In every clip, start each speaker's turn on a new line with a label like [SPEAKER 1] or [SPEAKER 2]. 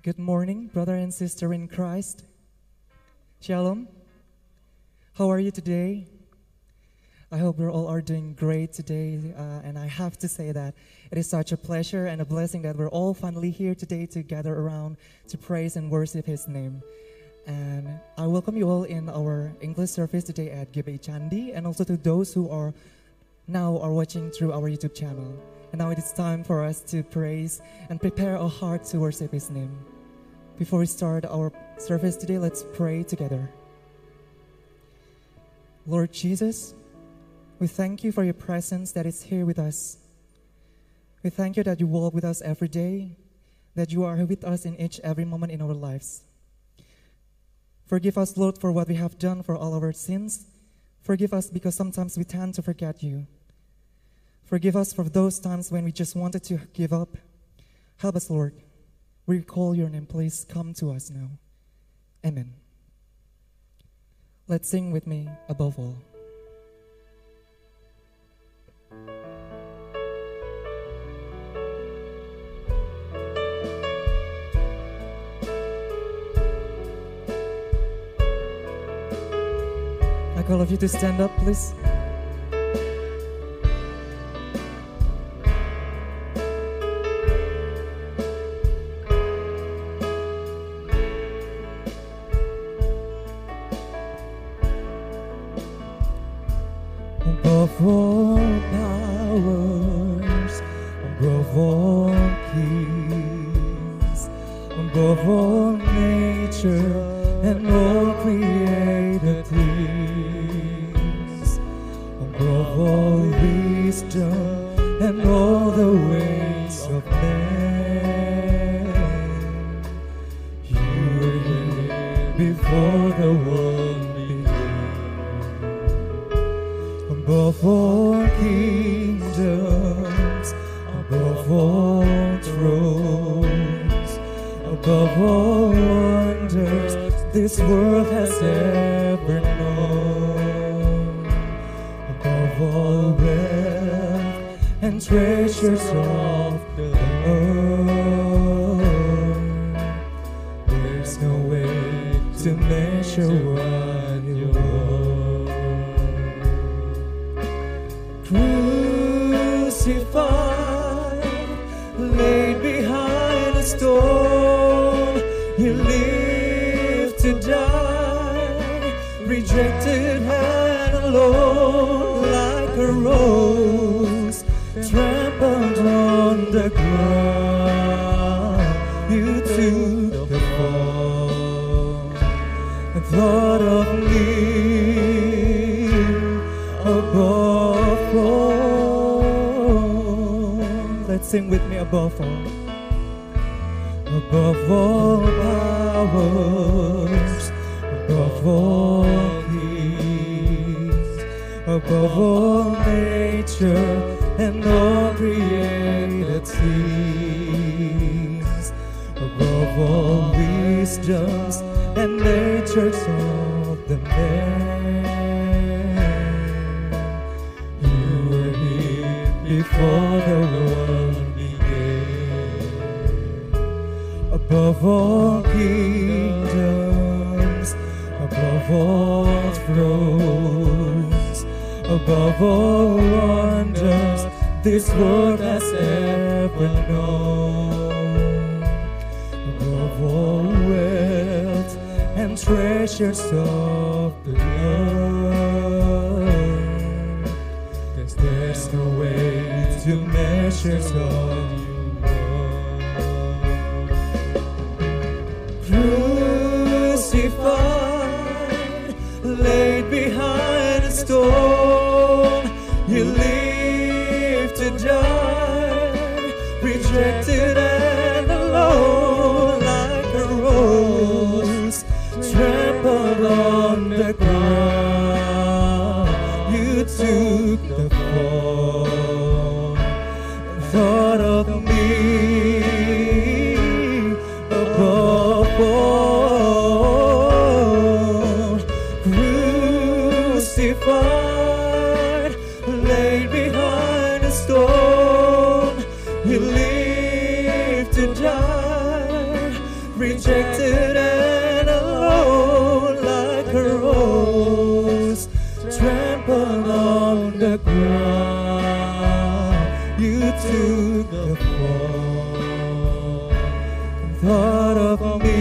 [SPEAKER 1] Good morning, brother and sister in Christ. Shalom. How are you today? I hope we all are doing great today, and I have to say that it is such a pleasure and a blessing that we're all finally here today to gather around to praise and worship His name. And I welcome you all in our English service today at GBI Candi, and also to those who are watching through our YouTube channel. And now it is time for us to praise and prepare our heart to worship His name. Before we start our service today, let's pray together. Lord Jesus, we thank you for your presence that is here with us. We thank you that you walk with us every day, that you are with us in each every moment in our lives. Forgive us, Lord, for what we have done, for all our sins. Forgive us because sometimes we tend to forget you. Forgive us for those times when we just wanted to give up. Help us, Lord. We call your name. Please come to us now. Amen. Let's sing with me, Above All. I call of you to stand up, please. Above all powers, above all kings, above all nature and all created things, above all wisdom and all the ways of man, you were here before the world began. Above all kingdoms, above all thrones, above all wonders this world has ever known, above all wealth and treasures of the earth, there's no way to measure what you are. Crucified, laid behind a stone, you lived to die, rejected and alone, like a rose trampled on the ground. You took the fall and thought of me above all. Let's sing with me, above all. Above all powers, above all kings, above all nature and all created things, above all wisdoms and natures of the man, you were here before the world began. Above all kingdoms, above all thrones, above all wonders this world has ever known, above all wealth and treasures of the earth, there's no way to measure all you are. Crucified, laid behind a stone, you lived to die, rejected and alone, like a rose trampled on the ground. You took the fall and thought of me above all. Crucified, laid behind a stone, you lived to die, rejected and alone like a rose, trampled on the ground. You took the fall, thought of me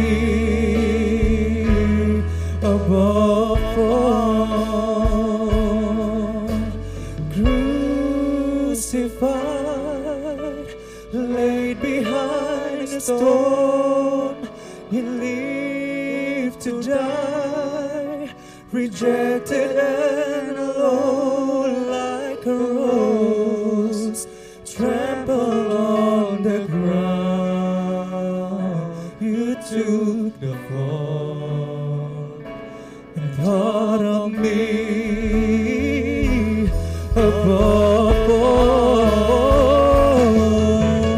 [SPEAKER 1] above all, crucified, laid behind a stone. He lived to die, rejected and alone like a rose, trampled on the ground. You took the fall and thought of me above all,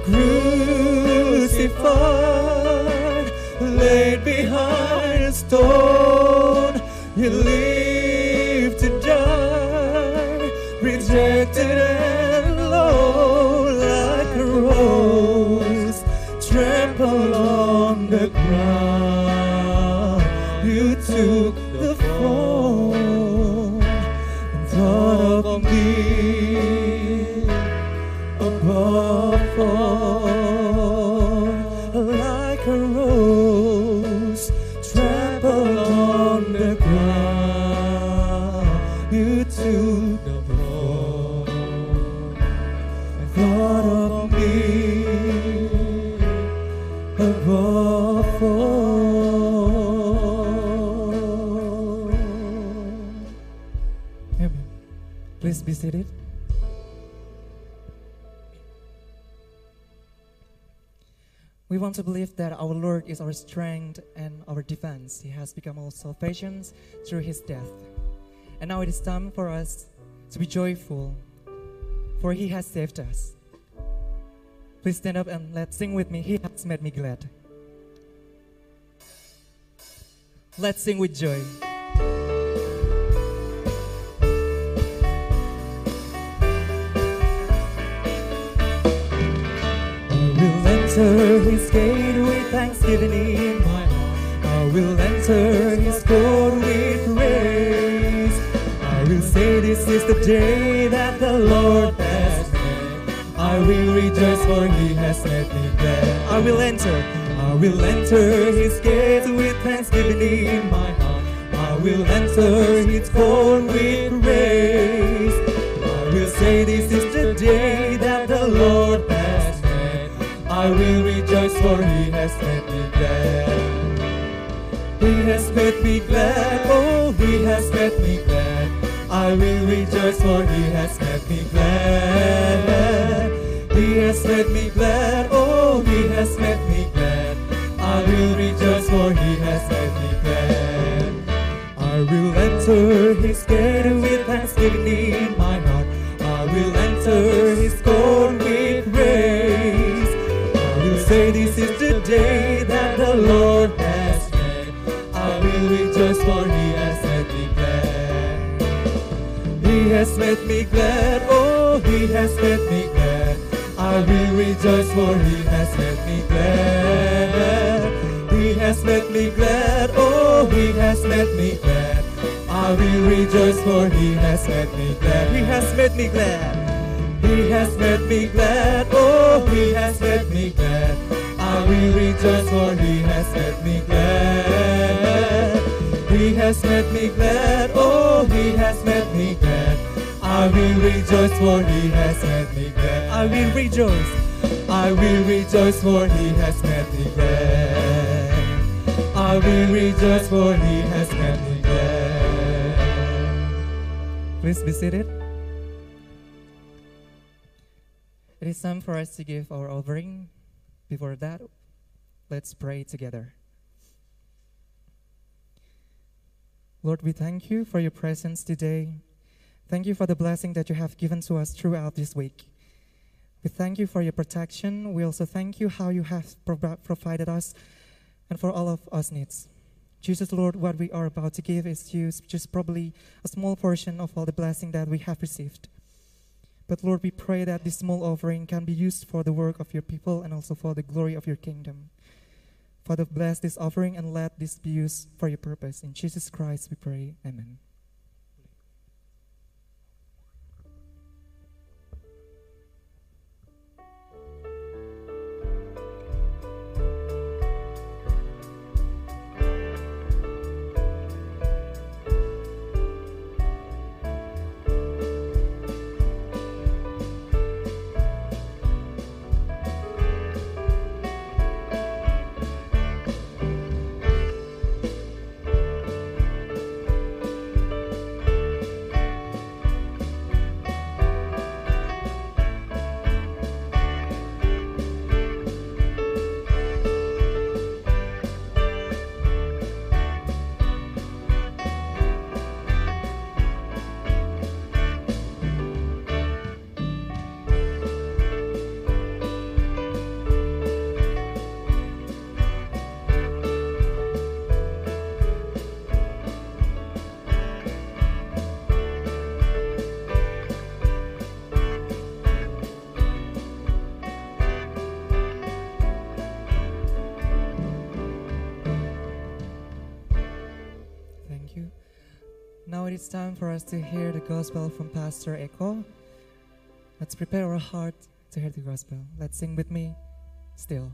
[SPEAKER 1] crucified, laid behind a stone. You lived to die, rejected and alone like a rose, trampled on the ground. You took the fall and thought of me above all, like a rose, trampled on the ground. You took the fall and thought of me above all. Amen. Please be seated. We want to believe that our Lord is our strength and our defense. He has become our salvation through His death. And now it is time for us to be joyful, for He has saved us. Please stand up and let's sing with me. He has made me glad. Let's sing with joy. Enter His gate with thanksgiving in my heart. I will enter His court with praise. I will say this is the day that the Lord has made. I will rejoice for He has made me glad. I will enter His gate with thanksgiving in my heart. I will enter His court with praise. I will say this is the day that the Lord has made. I will rejoice for He has made me glad. He has made me glad, oh He has made me glad. I will rejoice for He has made me glad. He has made me glad, oh He has made me glad. I will rejoice for He has made me glad. I will enter His gate with thanksgiving in my heart. I will enter His court with praise. Say this is the day that the Lord has made. I will rejoice for He has made me glad. He has made me glad, oh He has made me glad. I will rejoice for He has made me glad. He has made me glad, oh He has made me glad. I will rejoice for He has made me glad. He has made me glad. He has made me glad, oh He has made me glad. I will rejoice for He has made me glad. He has made me glad, oh He has made me glad. I will rejoice for He has made me glad. I will rejoice. I will rejoice for He has made me glad. I will rejoice for He has made me glad. Please be seated. It is time for us to give our offering. Before that, let's pray together. Lord, we thank You for Your presence today. Thank You for the blessing that You have given to us throughout this week. We thank You for Your protection. We also thank You how You have provided us and for all of us needs. Jesus, Lord, what we are about to give is just probably a small portion of all the blessing that we have received. But Lord, we pray that this small offering can be used for the work of Your people and also for the glory of Your kingdom. Father, bless this offering and let this be used for your purpose. In Jesus Christ we pray. Amen. Now it is time for us to hear the gospel from Pastor Eko. Let's prepare our heart to hear the gospel. Let's sing with me, Still.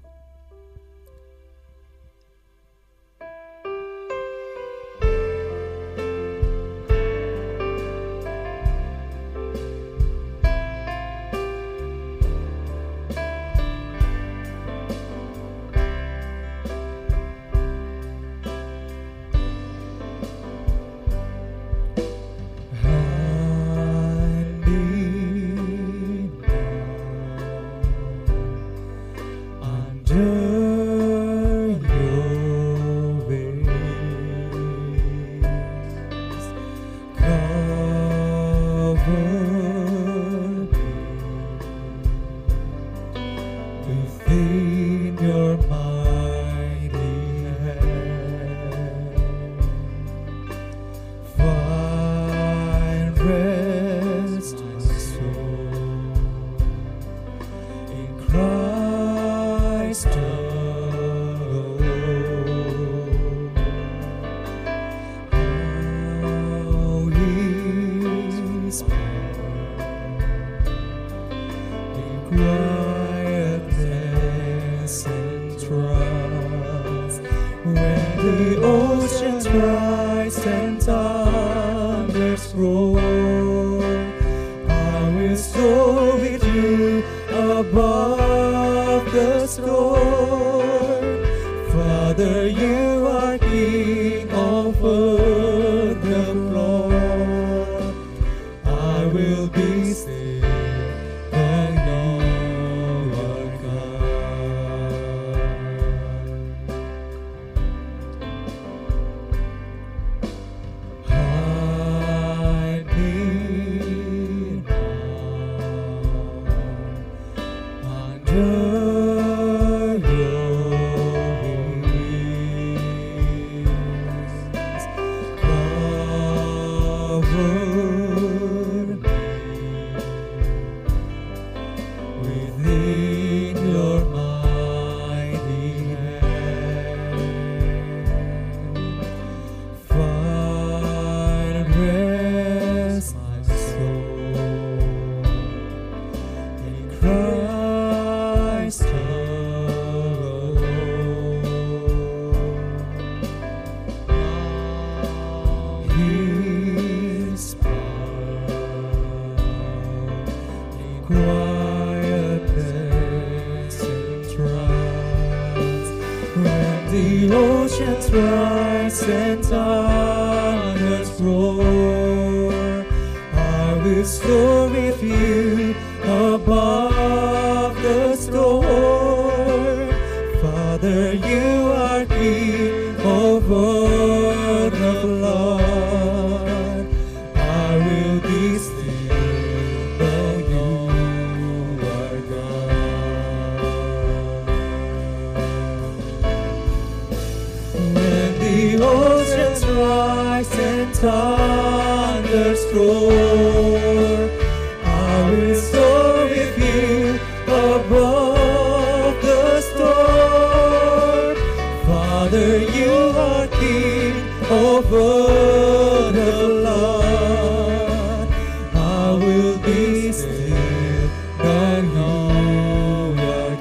[SPEAKER 1] king over the flood. I will be still, know you are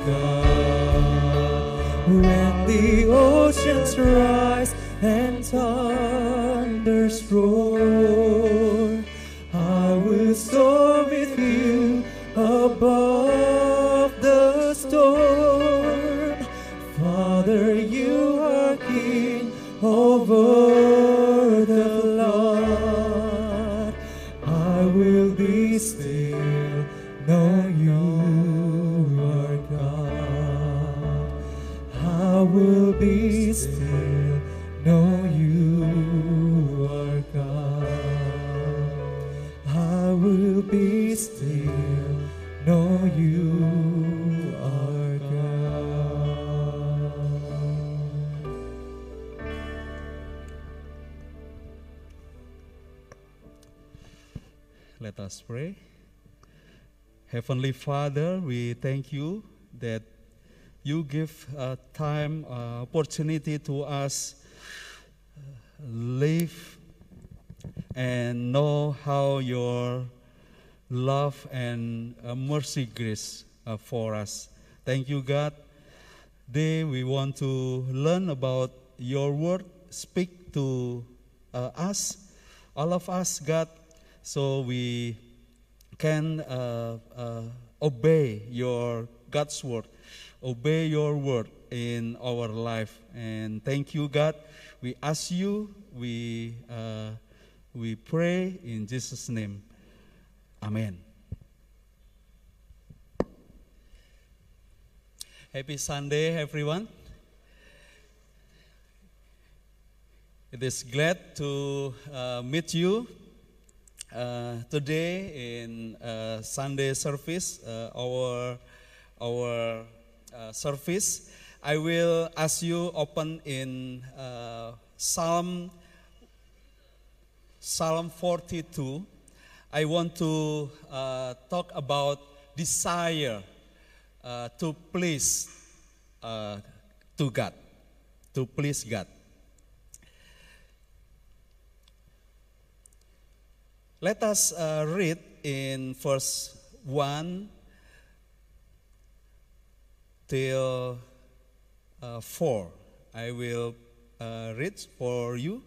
[SPEAKER 1] God. When the oceans rise and thunders roar, I will soar with you above the storm. Father, you are king over the flood. I will be still, know you are God. I will be still, know you are God. I will be still, know you are God.
[SPEAKER 2] Let us pray. Heavenly Father, we thank you that you give time, opportunity to us live and know how your love and mercy grace for us. Thank you, God. Today we want to learn about your word. Speak to us, all of us, God, so we can obey your God's word, obey your word in our life. And thank you, God. We ask you, we pray in Jesus' name. Amen. Happy Sunday, everyone. It is glad to meet you today in Sunday service, our service. I will ask you open in Psalm 42. I want to talk about desire to please to God, to please God. Let us read in verse 1 till 4. I will read for you.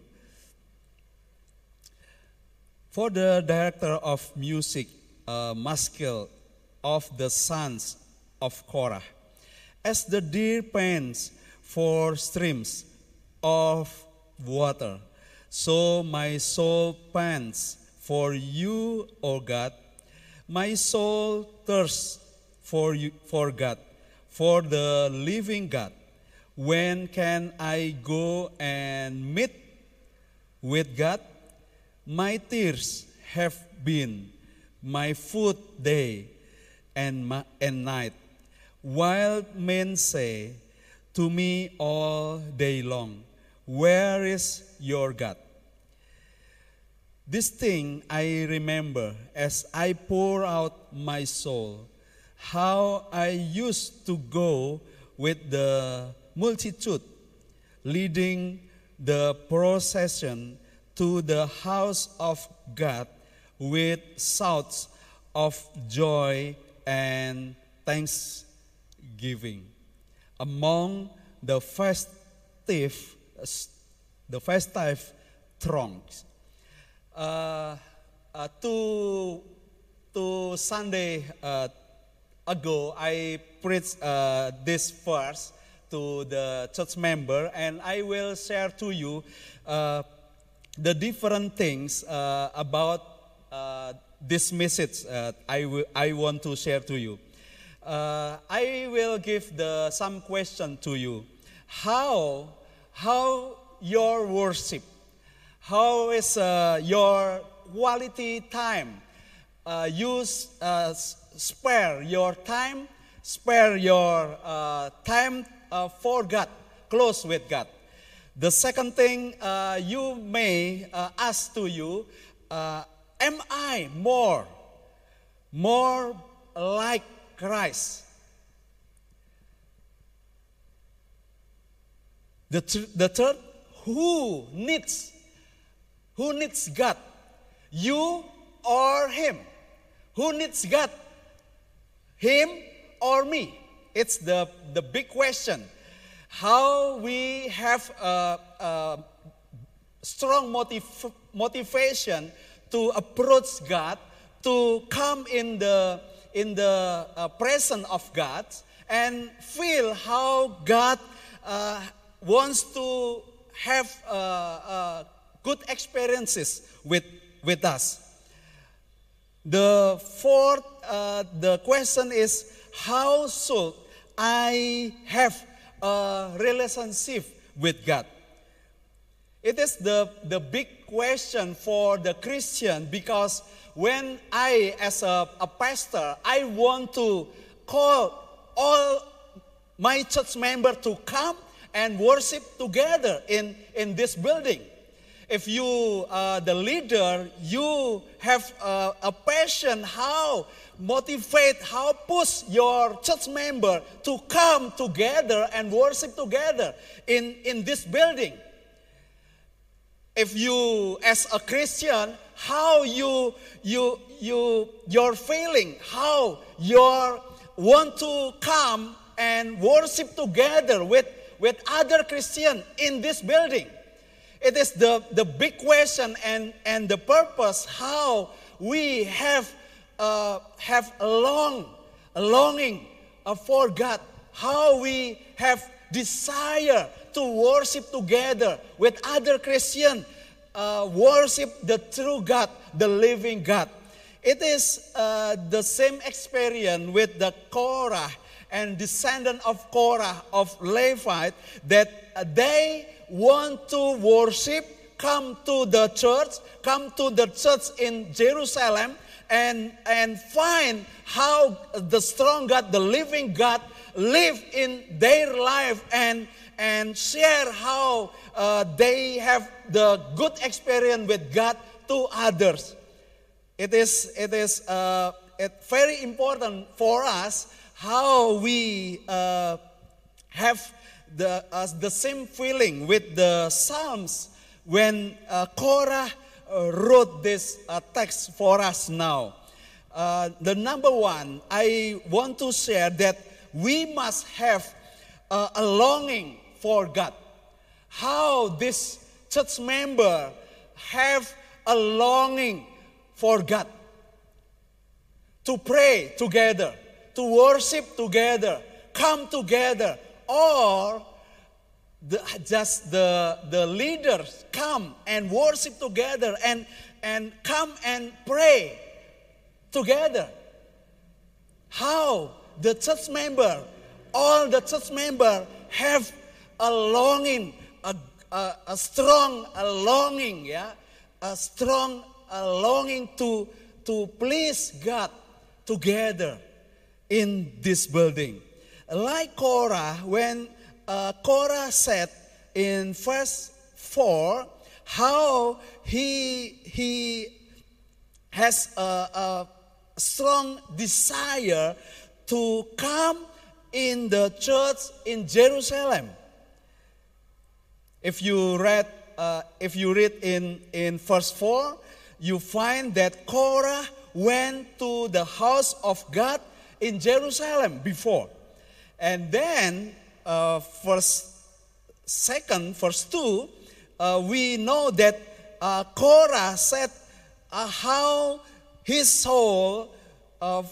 [SPEAKER 2] For the director of music, Maskil of the sons of Korah, as the deer pants for streams of water, so my soul pants for you, O God. My soul thirsts for you, for God, for the living God. When can I go and meet with God? My tears have been my food day and night, while men say to me all day long, where is your God? This thing I remember as I pour out my soul, how I used to go with the multitude, leading the procession to the house of God with shouts of joy and thanksgiving among the festive throngs. Two Sunday ago, I preached this verse to the church member, and I will share to you the different things about this message I want to share to you. I will give some question to you. How your worship, how is your quality time? You spare your time for God, close with God. The second thing you may ask to you, am I more like Christ? The third, who needs God? You or him? Who needs God? Him or me? It's the big question. How we have a strong motivation to approach God, to come in the presence of God, and feel how God wants to have good experiences with us. The fourth, the question is, how should I have a relationship with God? It is the big question for the Christian, because when I, as a pastor, I want to call all my church members to come and worship together in this building. If you, the leader, you have a passion, how motivate, how push your church member to come together and worship together in this building. If you, as a Christian, how your feeling, how you want to come and worship together with other Christians in this building. It is the big question and the purpose, how we have a longing for God, how we have desire to worship together with other Christians, worship the true God, the living God. It is the same experience with the Korah and descendant of Korah, of Levite, that they want to worship, come to the church in Jerusalem, and find how the strong God, the living God, live in their life, and share how they have the good experience with God to others. It is very important for us how we have the same feeling with the Psalms when Korah wrote this text for us now. The number one, I want to share that we must have a longing for God. How this church member have a longing for God. To pray together, to worship together, come together, or just the leaders come and worship together and come and pray together. How the church member, all the church member have a longing, a strong longing, a strong longing to please God together in this building. Like Korah, when Korah said in verse 4, how he has a strong desire to come in the church in Jerusalem. If you read in verse 4, you find that Korah went to the house of God in Jerusalem before. And then verse 2, we know that Korah said how his soul of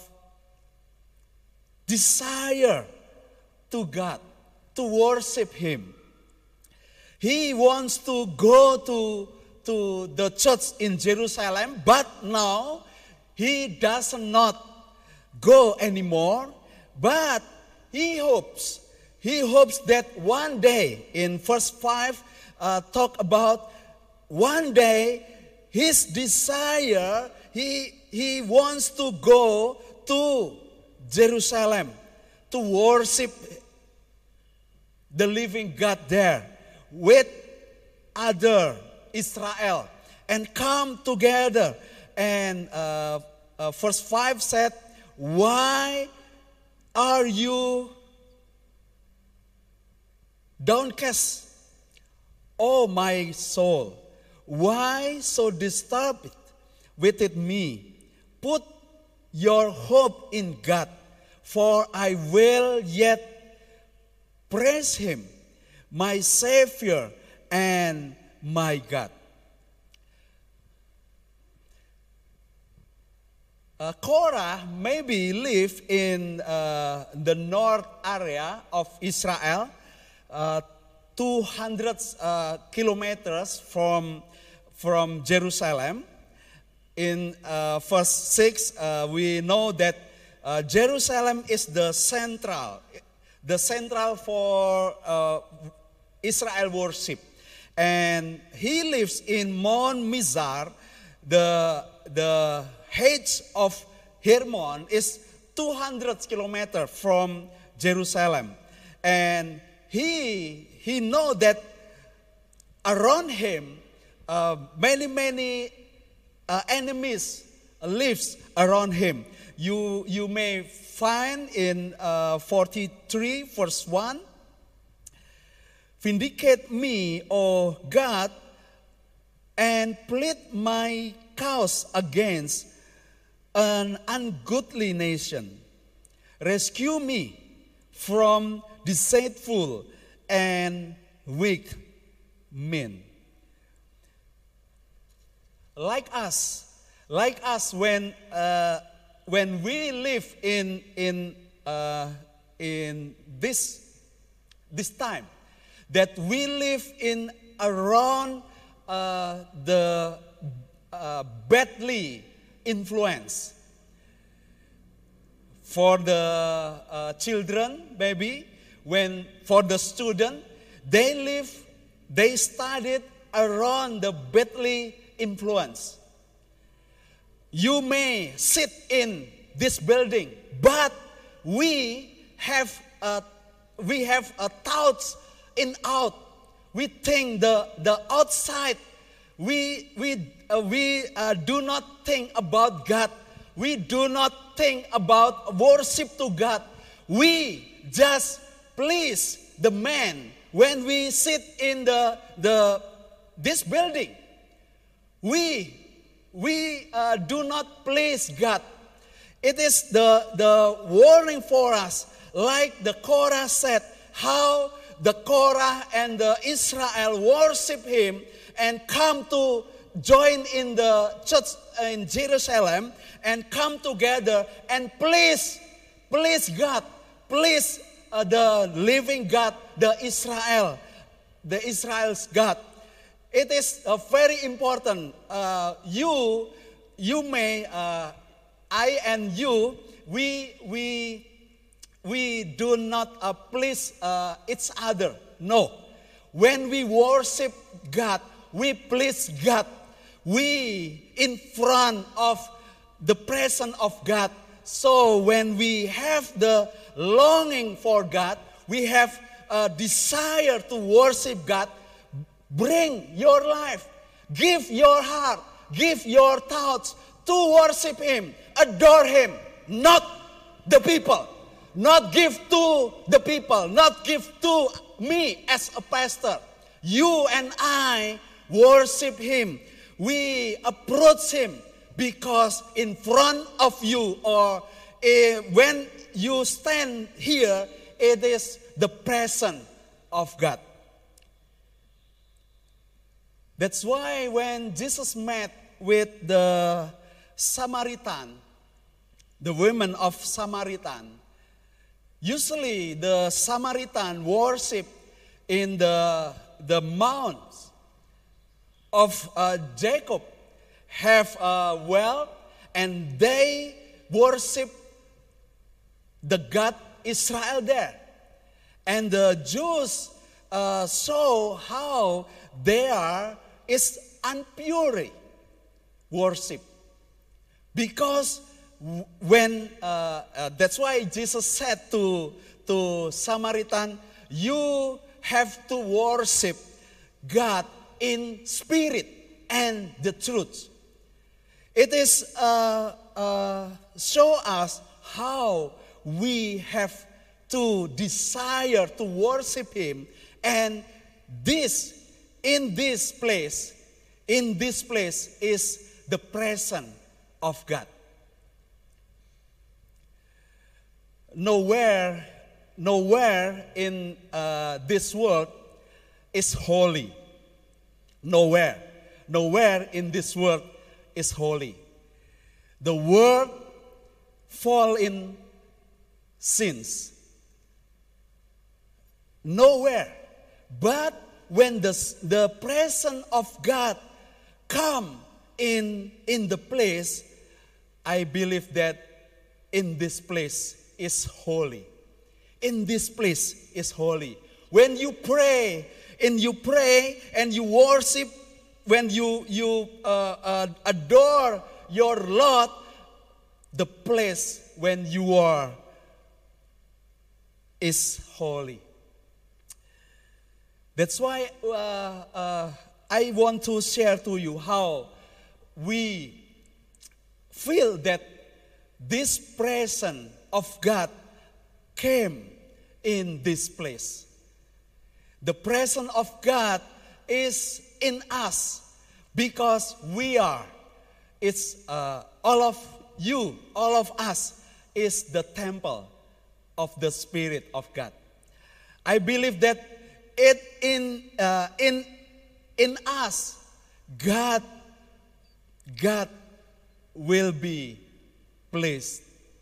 [SPEAKER 2] desire to God, to worship Him. He wants to go to the church in Jerusalem, but now he does not go anymore, but he hopes that one day, in verse 5, talk about one day his desire, he wants to go to Jerusalem to worship the living God there with other Israel and come together. And verse 5 said, why are you downcast, O my soul, why so disturbed within me? Put your hope in God, for I will yet praise him, my Savior and my God. Korah maybe lived in the north area of Israel, 200 kilometers from Jerusalem. In verse 6, we know that Jerusalem is the central for Israel worship. And he lives in Mount Mizar. The height of Hermon is 200 kilometers from Jerusalem. And he know that around him many enemies lives around him. You may find in 43 verse 1, vindicate me, O God, and plead my cause against an ungodly nation. Rescue me from deceitful and weak men. Like us, when we live in this time, that we live in around the badly influence. For the children, maybe, for the student, they studied around the badly influence. You may sit in this building, but we have thoughts in out. We think the outside. We do not think about God. We do not think about worship to God. We just please the man when we sit in this building. We do not please God. It is the warning for us, like the Korah said, how the Korah and the Israel worship him and come to join in the church in Jerusalem and come together and please God, please the living God, the Israel's God. It is very important. You may, I and you, we do not please each other. No. When we worship God, we please God. We in front of the presence of God. So when we have the longing for God, we have a desire to worship God, bring your life, give your heart, give your thoughts to worship him, adore him, not the people. Not give to the people, not give to me as a pastor. You and I worship him. We approach him because in front of you, or when you stand here, it is the presence of God. That's why when Jesus met with the Samaritan, the women of Samaritan, usually the Samaritan worship in the mounts of Jacob, have a well, and they worship the God Israel there. And the Jews saw how there is impure worship. Because when that's why Jesus said to Samaritan, you have to worship God in spirit and the truth. It is show us how we have to desire to worship him, and this in this place is the presence of God. Nowhere in this world is holy. Nowhere in this world is holy. The world fall in sins. Nowhere. But when the presence of God come in the place, I believe that in this place is holy. In this place is holy. When you pray and you worship, when you adore your Lord, the place when you are is holy. That's why I want to share to you how we feel that this presence of God came in this place. The presence of God is in us because we are. It's all of you, all of us is the temple of the Spirit of God. I believe that in us, God will be pleased.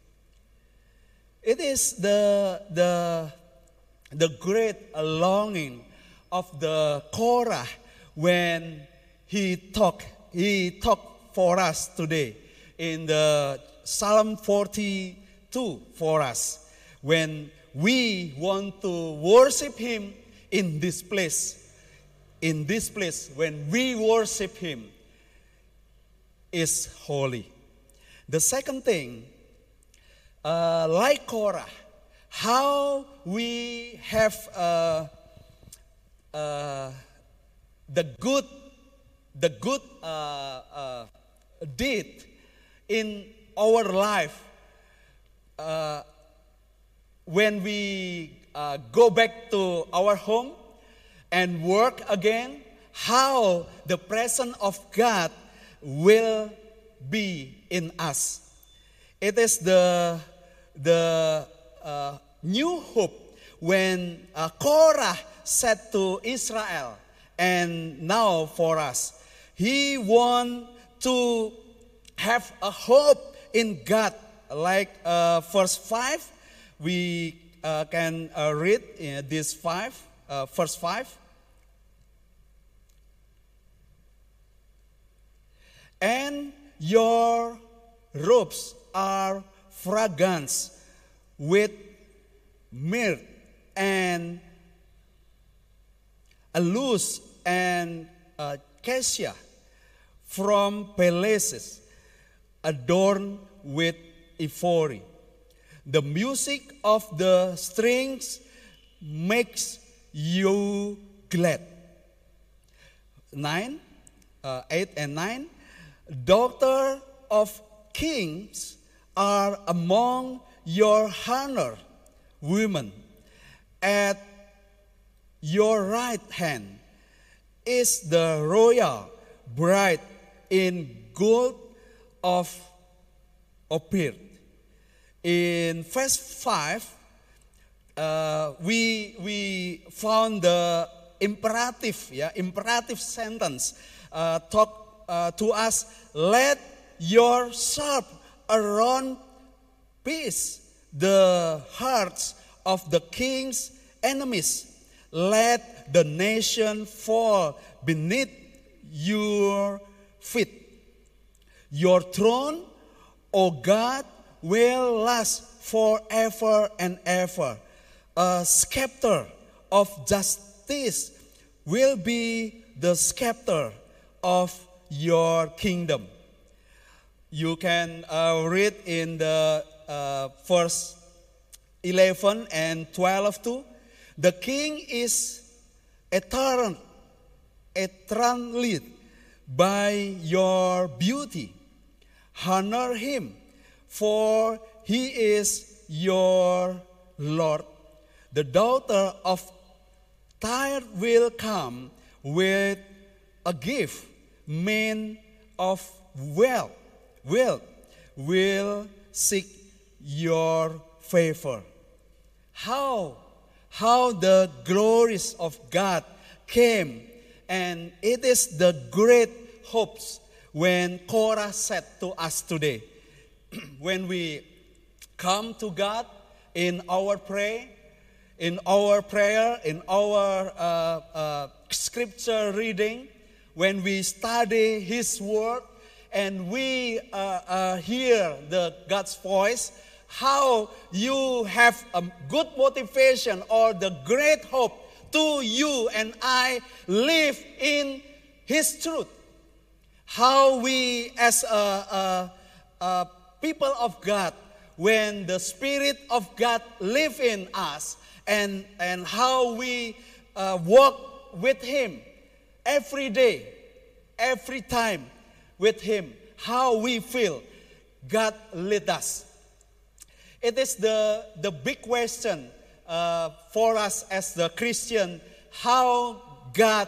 [SPEAKER 2] It is the great longing of the Korah when he talked for us today in the Psalm 42 for us, when we want to worship him in this place. In this place, when we worship him, is holy. The second thing, like Korah, how we have the good deed in our life when we go back to our home and work again, how the presence of God will be in us. It is the new hope when Korah said to Israel, and now for us, he want to have a hope in God. Like verse 5, we can read this verse 5. And your robes are fragrance with myrrh and aloes and cassia from palaces adorned with ivory. The music of the strings makes you glad. 8 and 9. Daughter of kings are among your honor, women. At your right hand is the royal bride in gold of Ophir. In verse 5, we found the imperative sentence talk to us. Let your sharp around peace the hearts of the king's enemies. Let the nation fall beneath your feet. Your throne, O God, will last forever and ever. A scepter of justice will be the scepter of your kingdom. You can read in the verse 11 and 12 too. The king is eternally by your beauty. Honor him, for he is your Lord. The daughter of Tyre will come with a gift meant of wealth, will seek your favor. How the glories of God came, and it is the great hopes when Korah said to us today, when we come to God in our prayer, in our scripture reading, when we study His word, and we hear God's voice, how you have a good motivation or the great hope to you and I live in His truth. How we as a people of God, when the Spirit of God live in us, and how we walk with Him every day, every time with Him, how we feel God lead us. It is the big question for us as the Christian, how God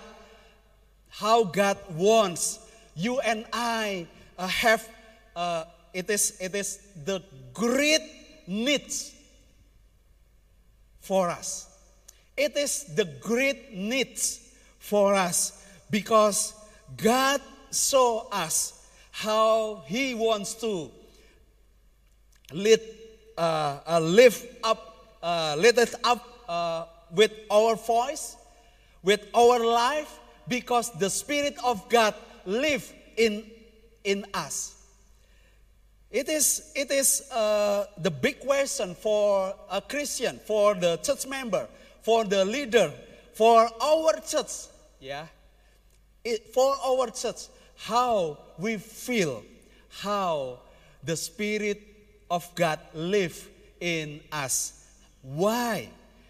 [SPEAKER 2] wants you and I have. It is the great needs for us. It is the great needs for us because God saw us how He wants to lift us up with our voice, with our life, because the Spirit of God lives in us. It is the big question for a Christian, for the church member, for the leader, for our church, for our church, how we feel, how the Spirit of God live in us. Why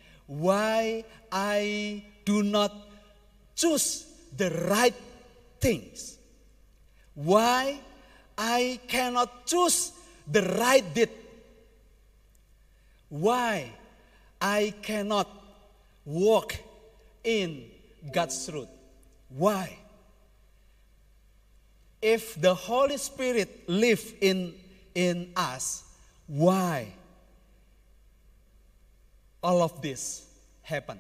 [SPEAKER 2] I do not choose the right things? Why I cannot choose the right deed? Why I cannot walk in God's truth? Why? If the Holy Spirit live in us, why all of this happen?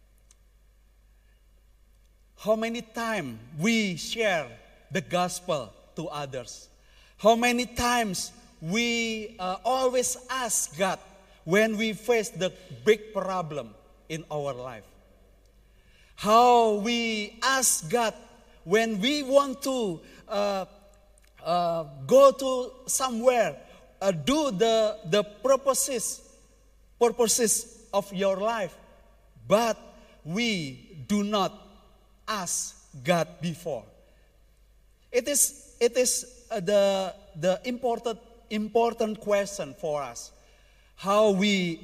[SPEAKER 2] How many times we share the gospel to others? How many times we always ask God when we face the big problem in our life? How we ask God when we want to go to somewhere, do the purposes of your life, but we do not ask God before. It is the important question for us. How we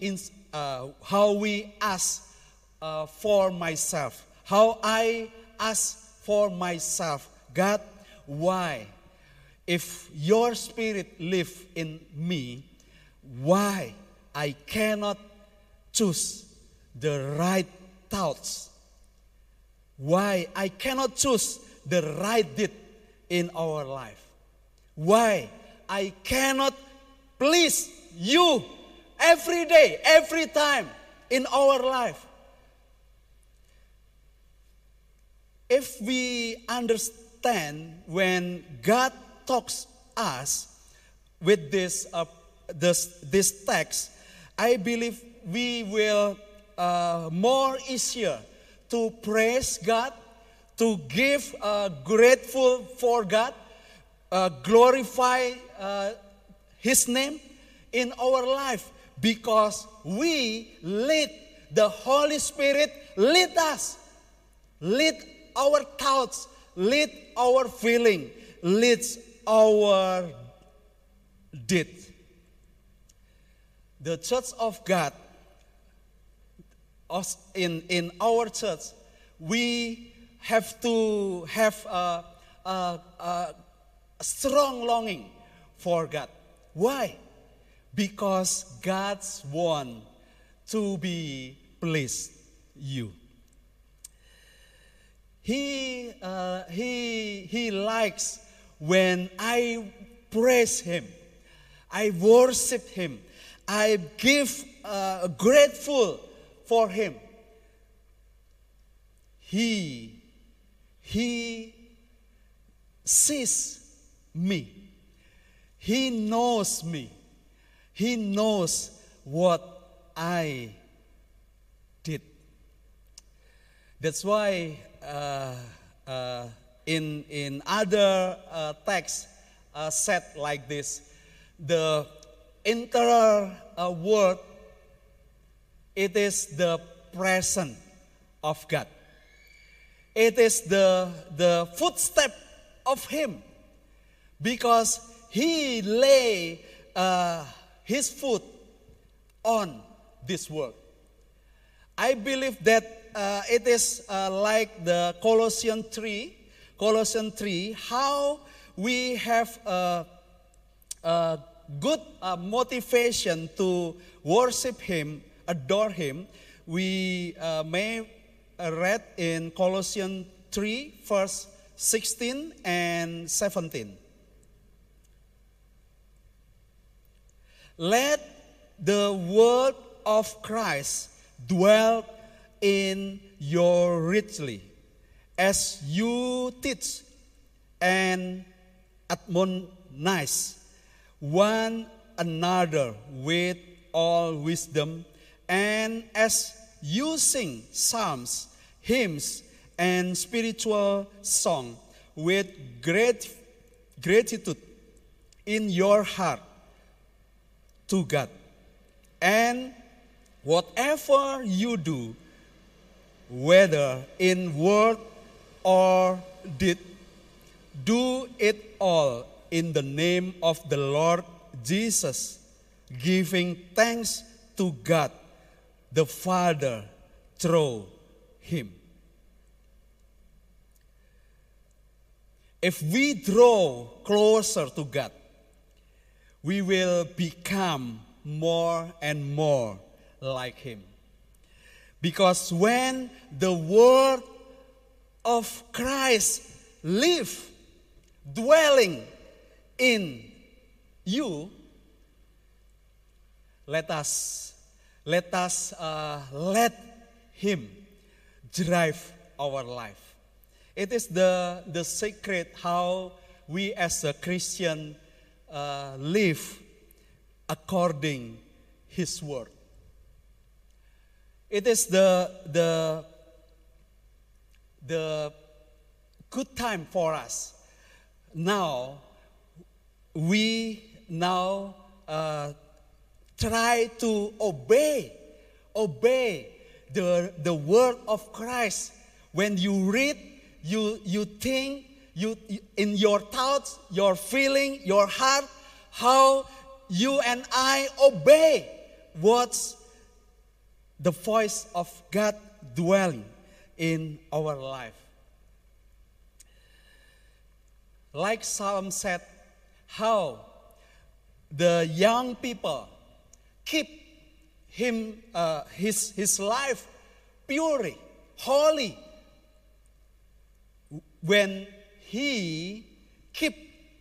[SPEAKER 2] ask for myself. How I ask for myself. God, why? If your Spirit live in me, why I cannot choose the right thoughts? Why I cannot choose the right deed in our life? Why I cannot please you every day, every time in our life? If we understand when God talks us with this text, I believe we will more easier to praise God, to give grateful for God, glorify His name in our life, because we lead the Holy Spirit, lead us, lead our thoughts, lead our feeling, leads our deed. The Church of God, us in our church, we have to have a strong longing for God. Why? Because God wants to be pleased you. he likes when I praise Him, I worship Him, I give grateful for Him. He sees me. He knows me. He knows what I did. That's why in other texts said like this, the entire word, it is the presence of God. It is the footstep of Him, because He lay His foot on this world. I believe that it is like the Colossians 3, how we have a good motivation to worship Him, adore Him. We may read in Colossians 3, verse 16 and 17. Let the word of Christ dwell in you richly, as you teach and admonish one another with all wisdom, and as you sing psalms, hymns, and spiritual song with gratitude in your heart to God. And whatever you do, whether in word or deed, do it all in the name of the Lord Jesus, giving thanks to God the Father through Him. If we draw closer to God, we will become more and more like Him. Because when the word of Christ live, dwelling in you, let Him drive our life. It is the secret how we as a Christian live according His word. It is the good time for us. Now, we try to obey the word of Christ. When you read, you think, you in your thoughts, your feeling, your heart, how you and I obey what's the voice of God dwelling in our life. Like Psalm said, how the young people keep his life pure, holy, when he keep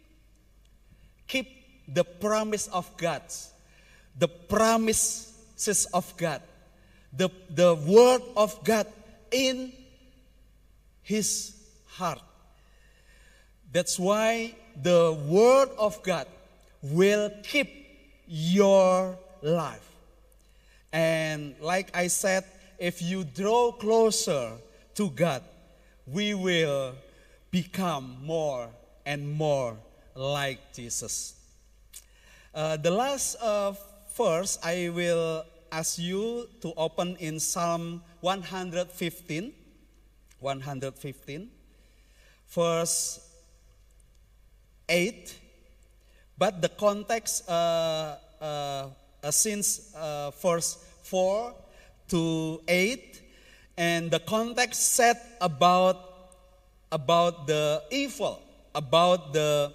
[SPEAKER 2] the promise of God, the promises of God, the word of God in his heart. That's why the word of God will keep your life. And like I said, if you draw closer to God, we will become more and more like Jesus. The last verse I will ask you to open in Psalm 115, verse 8. But the context since verse 4 to 8, and the context said about the evil, about the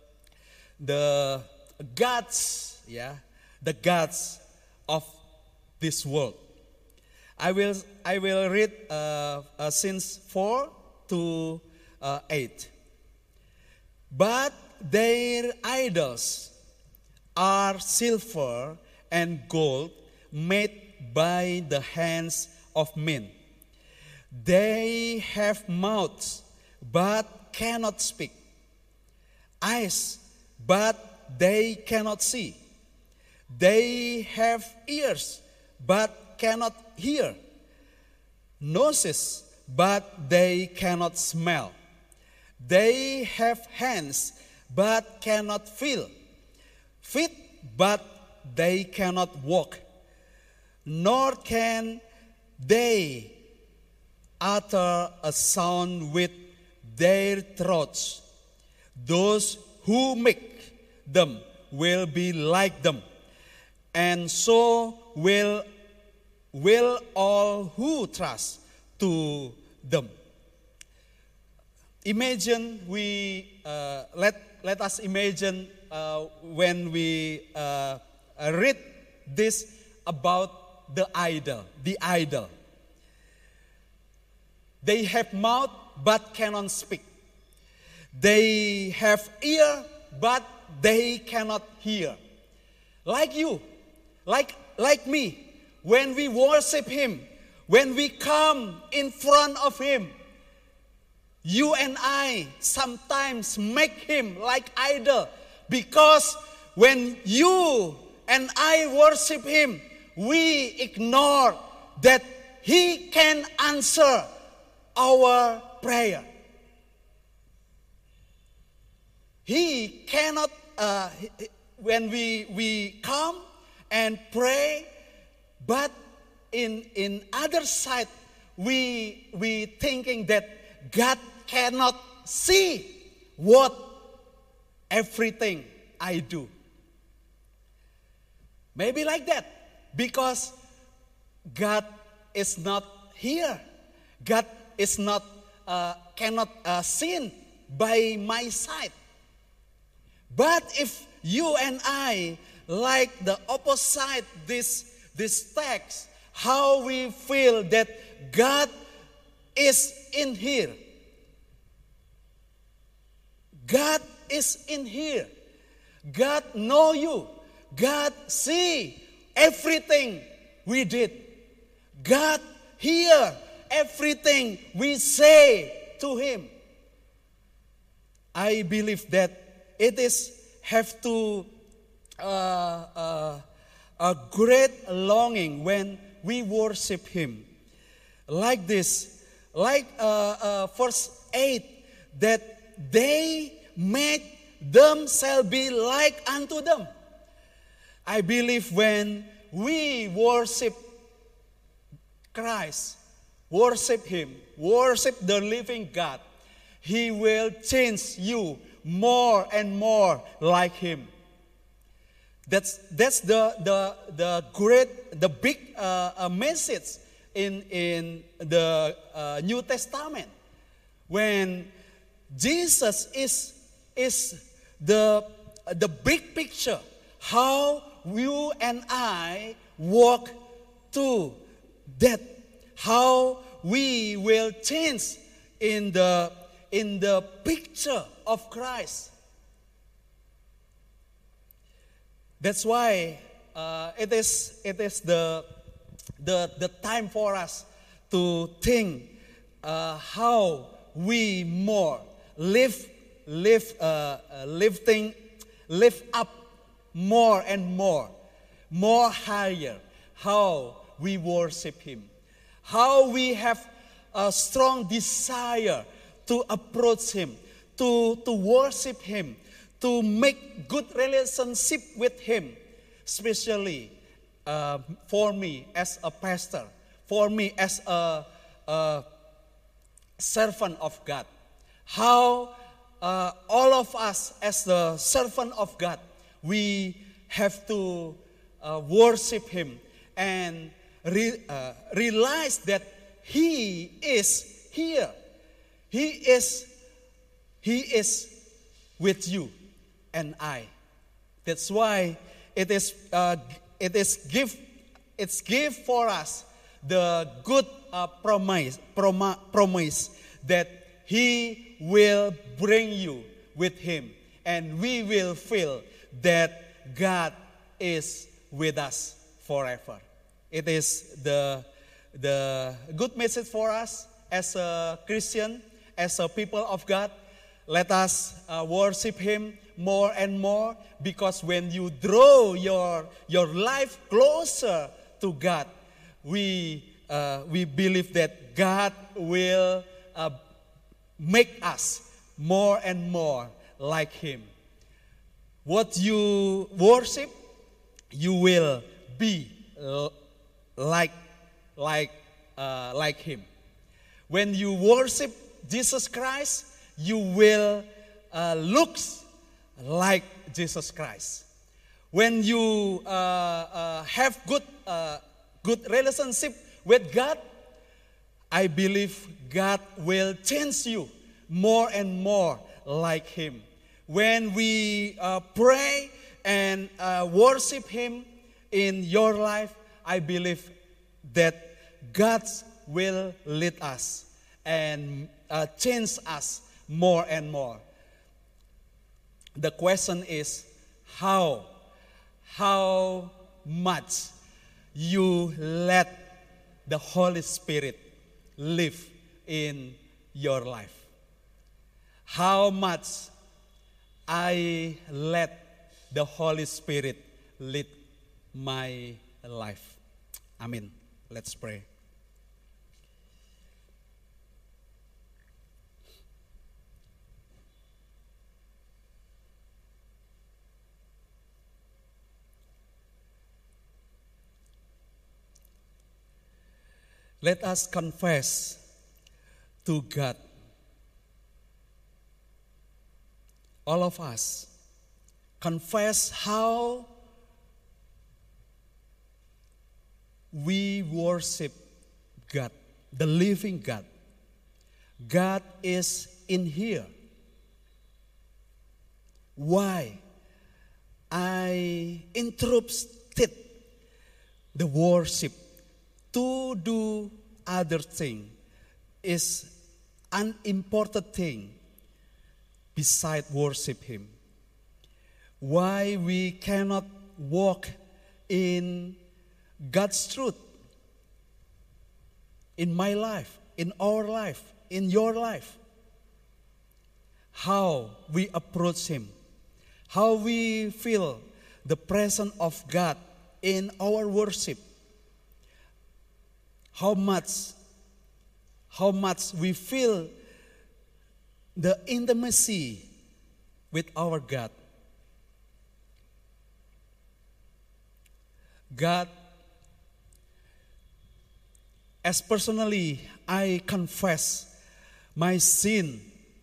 [SPEAKER 2] gods, the gods of this world. I will read since 4 to 8. But their idols are silver and gold made by the hands of men. They have mouths, but cannot speak, eyes, but they cannot see. They have ears, but cannot hear, noses, but they cannot smell. They have hands, but cannot feel, feet, but they cannot walk, nor can they utter a sound with their throats. Those who make them will be like them, and so will all who trust to them. Imagine let us imagine when we read this about the idol. They have mouth but cannot speak. They have ear but they cannot hear. Like you, like me, when we worship Him, when we come in front of Him, you and I sometimes make Him like idol, because when you and I worship Him, we ignore that He can answer our prayer. He cannot, when we come and pray, but in other side, we thinking that God cannot see what everything I do. Maybe like that, because God is not here. God is not cannot seen by my side. But if you and I like the opposite this text, how we feel that God is in here. God is in here. God know you. God see everything we did. God hear everything we say to Him. I believe that it is have to a great longing when we worship Him. Like this, like verse 8, that they made themselves be like unto them. I believe when we worship Christ, worship Him, worship the living God, He will change you more and more like Him. That's the great, the big message in the New Testament, when Jesus is the big picture how you and I walk to that, how we will change in the picture of Christ. That's why it is the time for us to think how we more live up more and more higher, how we worship Him, how we have a strong desire to approach Him, to worship Him, to make good relationship with Him, especially for me as a pastor, for me as a servant of God. How all of us as the servant of God, we have to worship Him and realize that He is here. He is with you and I. That's why it's give for us the good promise that He will bring you with Him, and we will feel that God is with us forever. It is the good message for us as a Christian, as a people of God. Let us worship Him more and more, because when you draw your life closer to God, we believe that God will make us more and more like Him. What you worship, you will be like Him. When you worship Jesus Christ, you will look like Jesus Christ. When you have good relationship with God, I believe God will change you more and more like Him. When we pray and worship Him in your life, I believe that God will lead us and change us more and more. The question is how much you let the Holy Spirit live in your life. How much I let the Holy Spirit lead my life. Amen. Let's pray. Let us confess to God. All of us confess how we worship God, the living God. God is in here. Why I interrupted the worship to do other thing is an important thing beside worship Him. Why we cannot walk in God's truth in my life, in our life, in your life. How we approach Him, how we feel the presence of God in our worship. How much we feel the intimacy with our God. God, as personally I confess my sin,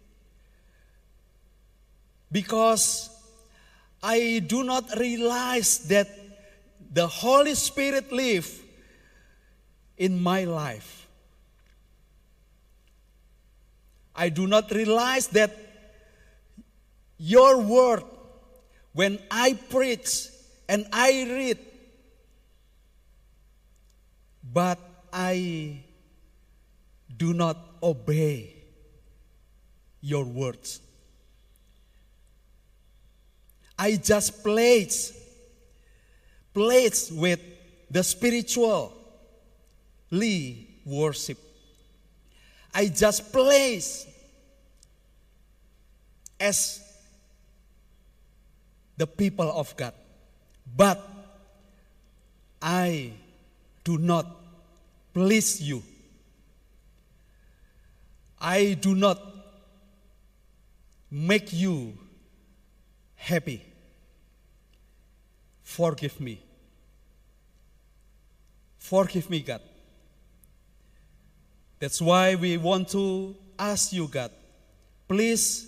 [SPEAKER 2] because I do not realize that the Holy Spirit lives in my life. I do not realize that your word, when I preach and I read, but I do not obey your words. I just plays with the spiritually worship. I just plays as the people of God, but I do not please you. I do not make you happy. Forgive me. Forgive me, God. That's why we want to ask you, God, please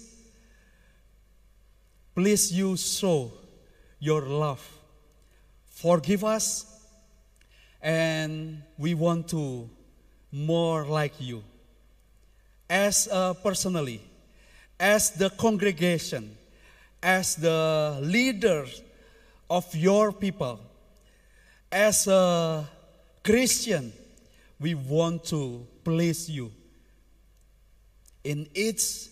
[SPEAKER 2] you show your love. Forgive us, and we want to more like you. As personally, as the congregation, as the leader of your people, as a Christian, we want to please you in each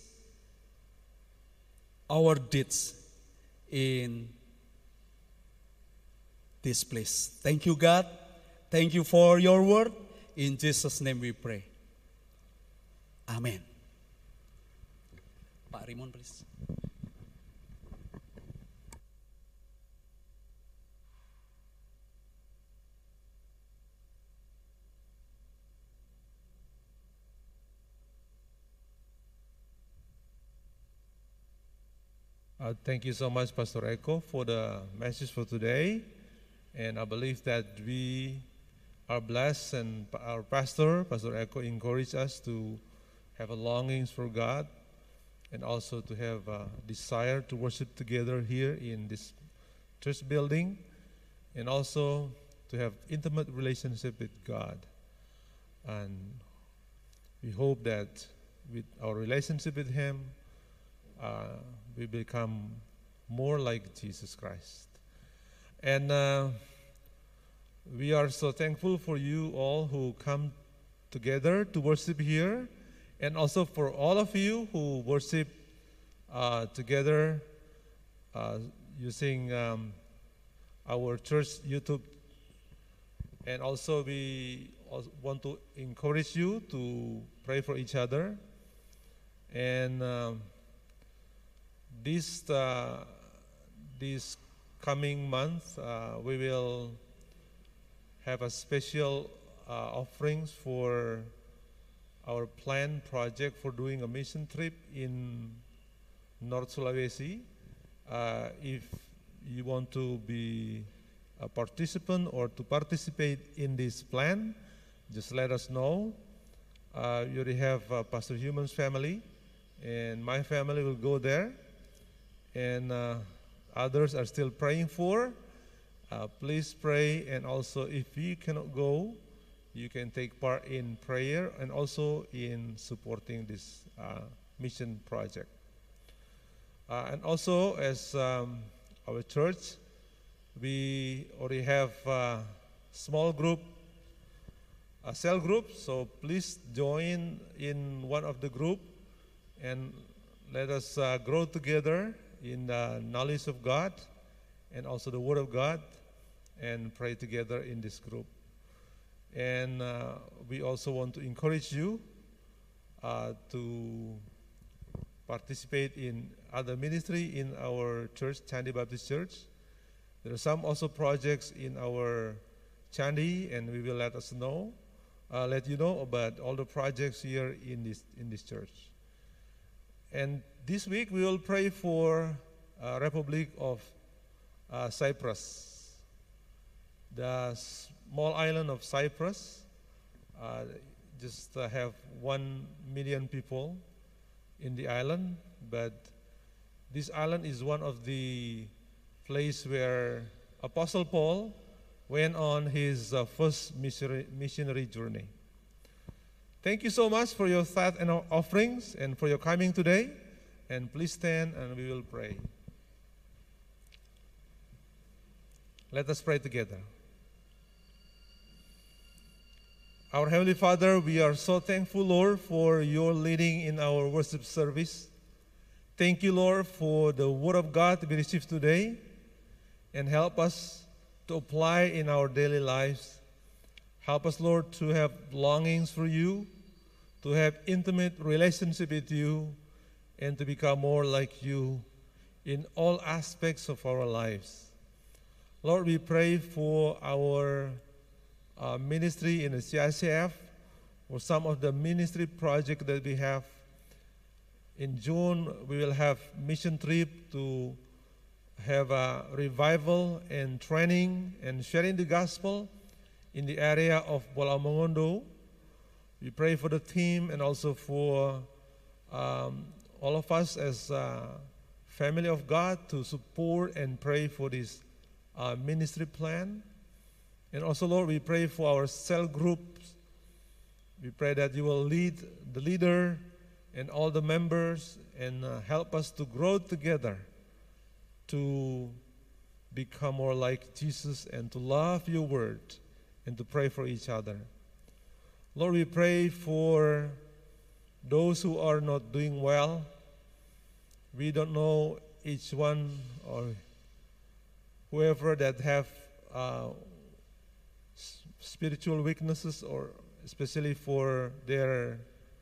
[SPEAKER 2] our deeds in this place. Thank you, God. Thank you for your word. In Jesus' name we pray. Amen. Pak Rimon, please.
[SPEAKER 3] Thank you so much, Pastor Eko, for the message for today. And I believe that we are blessed, and our Pastor Eko, encouraged us to have a longings for God and also to have a desire to worship together here in this church building, and also to have intimate relationship with God. And we hope that with our relationship with Him, we become more like Jesus Christ. And we are so thankful for you all who come together to worship here, and also for all of you who worship together using our church YouTube. And also we also want to encourage you to pray for each other. And this coming month, we will have a special offerings for our planned project for doing a mission trip in North Sulawesi. If you want to be a participant or to participate in this plan, just let us know. You already have Pastor Human's family, and my family will go there. And others are still praying for. Please pray, and also if you cannot go, you can take part in prayer and also in supporting this mission project. And also, as our church, we already have a small group, a cell group, so please join in one of the group and let us grow together in the knowledge of God and also the Word of God, and pray together in this group. And we also want to encourage you to participate in other ministry in our church, Chandi Baptist Church. There are some also projects in our Chandi, and we will let you know about all the projects here in this church. And this week we will pray for Republic of Cyprus, the small island of Cyprus. Just have 1 million people in the island, but this island is one of the place where Apostle Paul went on his first missionary journey. Thank you so much for your tithe and offerings and for your coming today. And please stand and we will pray. Let us pray together. Our Heavenly Father, we are so thankful, Lord, for your leading in our worship service. Thank you, Lord, for the Word of God to be received today, and help us to apply in our daily lives. Help us, Lord, to have longings for you, to have intimate relationship with you, and to become more like you in all aspects of our lives. Lord, we pray for our ministry in the CICF, or some of the ministry projects that we have. In June, we will have mission trip to have a revival and training and sharing the gospel in the area of Bola Mongondo. We pray for the team and also for all of us as a family of God to support and pray for this ministry plan. And also, Lord, we pray for our cell groups. We pray that you will lead the leader and all the members and help us to grow together to become more like Jesus and to love your word and to pray for each other. Lord, we pray for those who are not doing well. We don't know each one or whoever that have spiritual weaknesses, or especially for their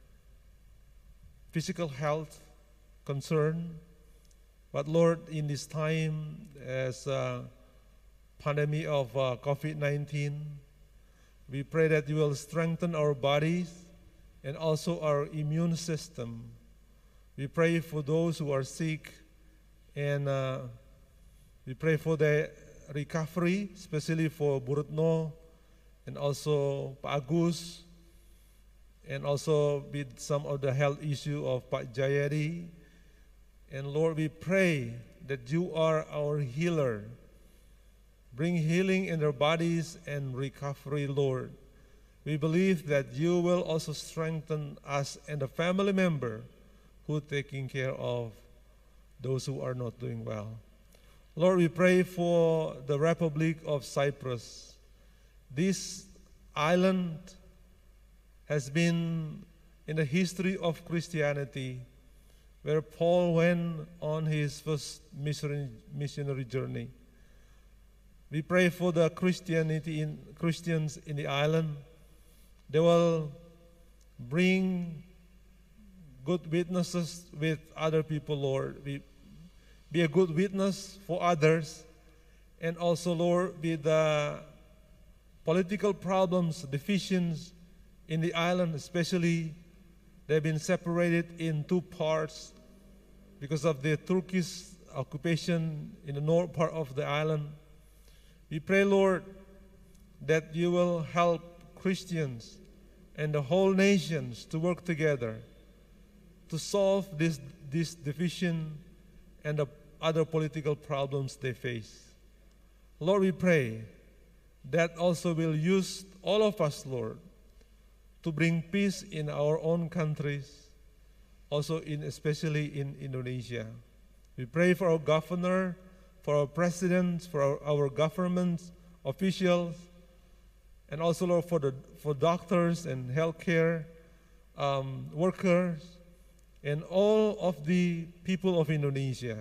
[SPEAKER 3] physical health concern. But Lord, in this time as a pandemic of COVID-19, we pray that you will strengthen our bodies and also our immune system. We pray for those who are sick, and we pray for the recovery, especially for Burutno and also Pak Agus, and also with some of the health issue of Pak Jayadi. And Lord, we pray that you are our healer. Bring healing in their bodies and recovery, Lord. We believe that you will also strengthen us and the family member who are taking care of those who are not doing well. Lord, we pray for the Republic of Cyprus. This island has been in the history of Christianity, where Paul went on his first missionary journey. We pray for the Christians in the island. They will bring good witnesses with other people, Lord. Be a good witness for others. And also, Lord, with the political problems, divisions in the island especially, they've been separated in two parts because of the Turkish occupation in the north part of the island. We pray, Lord, that you will help Christians and the whole nations to work together to solve this division and the other political problems they face. Lord, we pray that also will use all of us, Lord, to bring peace in our own countries, also especially in Indonesia. We pray for our governor, for our presidents, for our government officials, and also, Lord, for doctors and healthcare workers, and all of the people of Indonesia.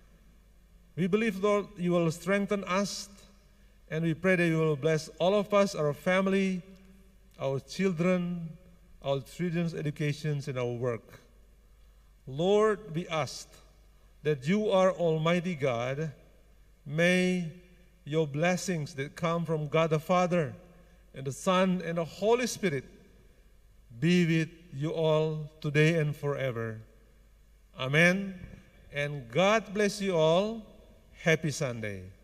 [SPEAKER 3] We believe, Lord, you will strengthen us, and we pray that you will bless all of us, our family, our children, our children's educations, and our work. Lord, we ask that you are Almighty God. May your blessings that come from God the Father and the Son and the Holy Spirit be with you all today and forever. Amen. And God bless you all. Happy Sunday.